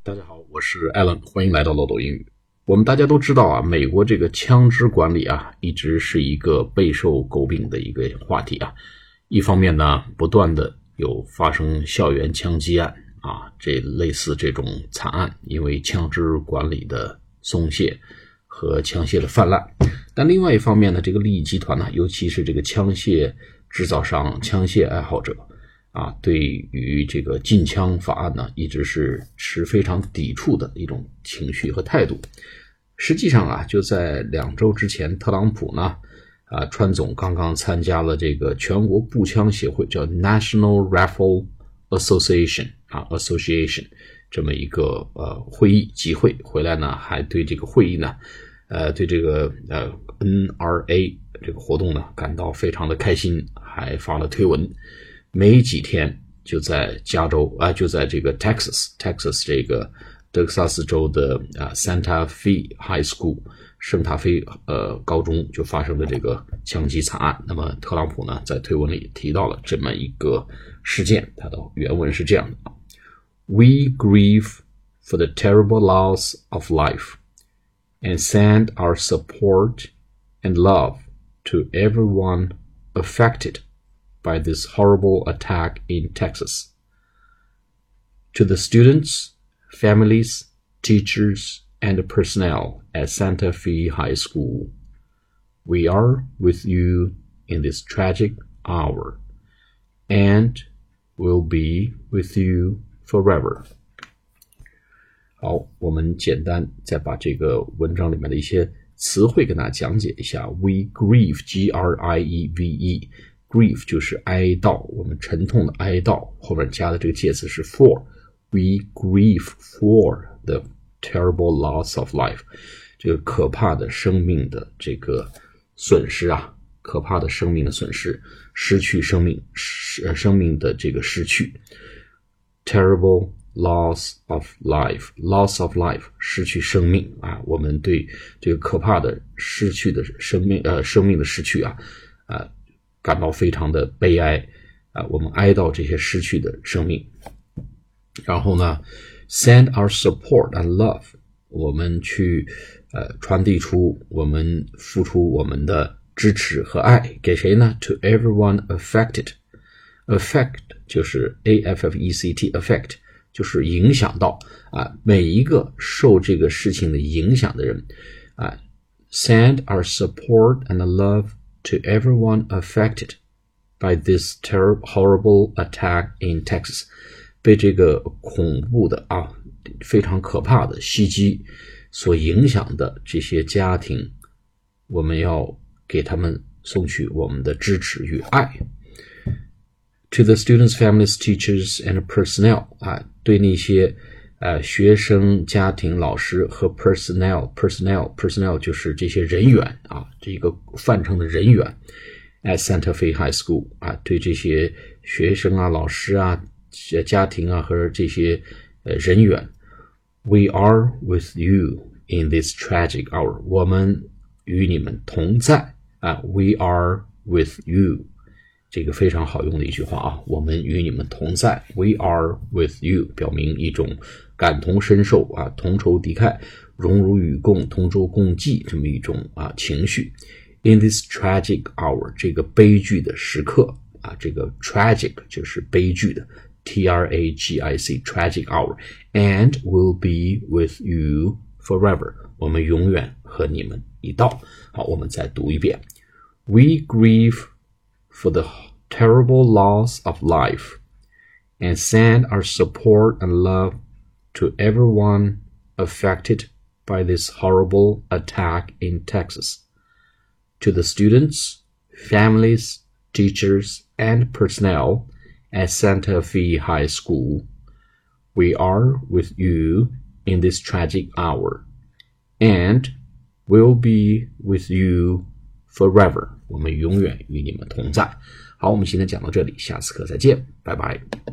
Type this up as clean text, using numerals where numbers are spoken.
大家好，我是 Alan， 欢迎来到漏斗英语。我们大家都知道啊，美国这个枪支管理啊，一直是一个备受诟病的一个话题啊。一方面呢，不断的有发生校园枪击案啊，这类似这种惨案，因为枪支管理的松懈和枪械的泛滥。但另外一方面呢，这个利益集团呢，尤其是这个枪械制造商、枪械爱好者啊，对于这个禁枪法案呢，一直是持非常抵触的一种情绪和态度。实际上啊，就在2周之前，特朗普呢，川总刚刚参加了这个全国步枪协会叫 National Rifle Association 这么一个会议集会回来呢，还对这个会议呢，对这个NRA 这个活动呢感到非常的开心，还发了推文。没几天就在加州就在这个 Texas 这个德克萨斯州的Santa Fe High School 圣塔菲高中就发生了这个枪击惨案。那么特朗普呢在推文里提到了这么一个事件，他的原文是这样的：We grieve for the terrible loss of life and send our support and love to everyone affected by this horrible attack in Texas. To the students, families, teachers, and personnel at Santa Fe High School, we are with you in this tragic hour, and will be with you forever. 好，我们简单再把这个文章里面的一些词汇跟大家讲解一下。We grieve, G-R-I-E-V-E grief 就是哀悼，我们沉痛的哀悼，后面加的这个介词是 for。 We grieve for the terrible loss of life， 这个可怕的生命的这个损失啊，可怕的生命的损失，失去生命，生命的这个失去。 Terrible loss of life， loss of life 失去生命啊，我们对这个可怕的失去的生命的失去感到非常的悲哀我们哀悼这些失去的生命。然后呢 send our support and love， 我们去传递出，我们付出我们的支持和爱给谁呢？ To everyone affected， affect 就是 A-F-F-E-C-T affect 就是影响到每一个受这个事情的影响的人send our support and love to everyone affected by this horrible attack in Texas， 被这个恐怖的非常可怕的袭击所影响的这些家庭，我们要给他们送去我们的支持与爱。To the students, families, teachers, and personnel 对那些学生、家庭、老师和 personnel 就是这些人员这个泛称的人员 at Santa Fe High School 对这些学生老师家庭和这些人员 We are with you in this tragic hour， 我们与你们同在We are with you， 这个非常好用的一句话我们与你们同在 We are with you， 表明一种感同身受同仇敌忾，荣辱与共，同舟共济这么一种情绪。In this tragic hour， 这个悲剧的时刻这个 tragic 就是悲剧的 T-R-A-G-I-C tragic hour and will be with you forever， 我们永远和你们一道。好，我们再读一遍。 We grieve for the terrible loss of life and send our support and love to everyone affected by this horrible attack in Texas. To the students, families, teachers, and personnel at Santa Fe High School, we are with you in this tragic hour, and will be with you forever. 我们永远与你们同在。好，我们今天讲到这里，下次课再见，拜拜。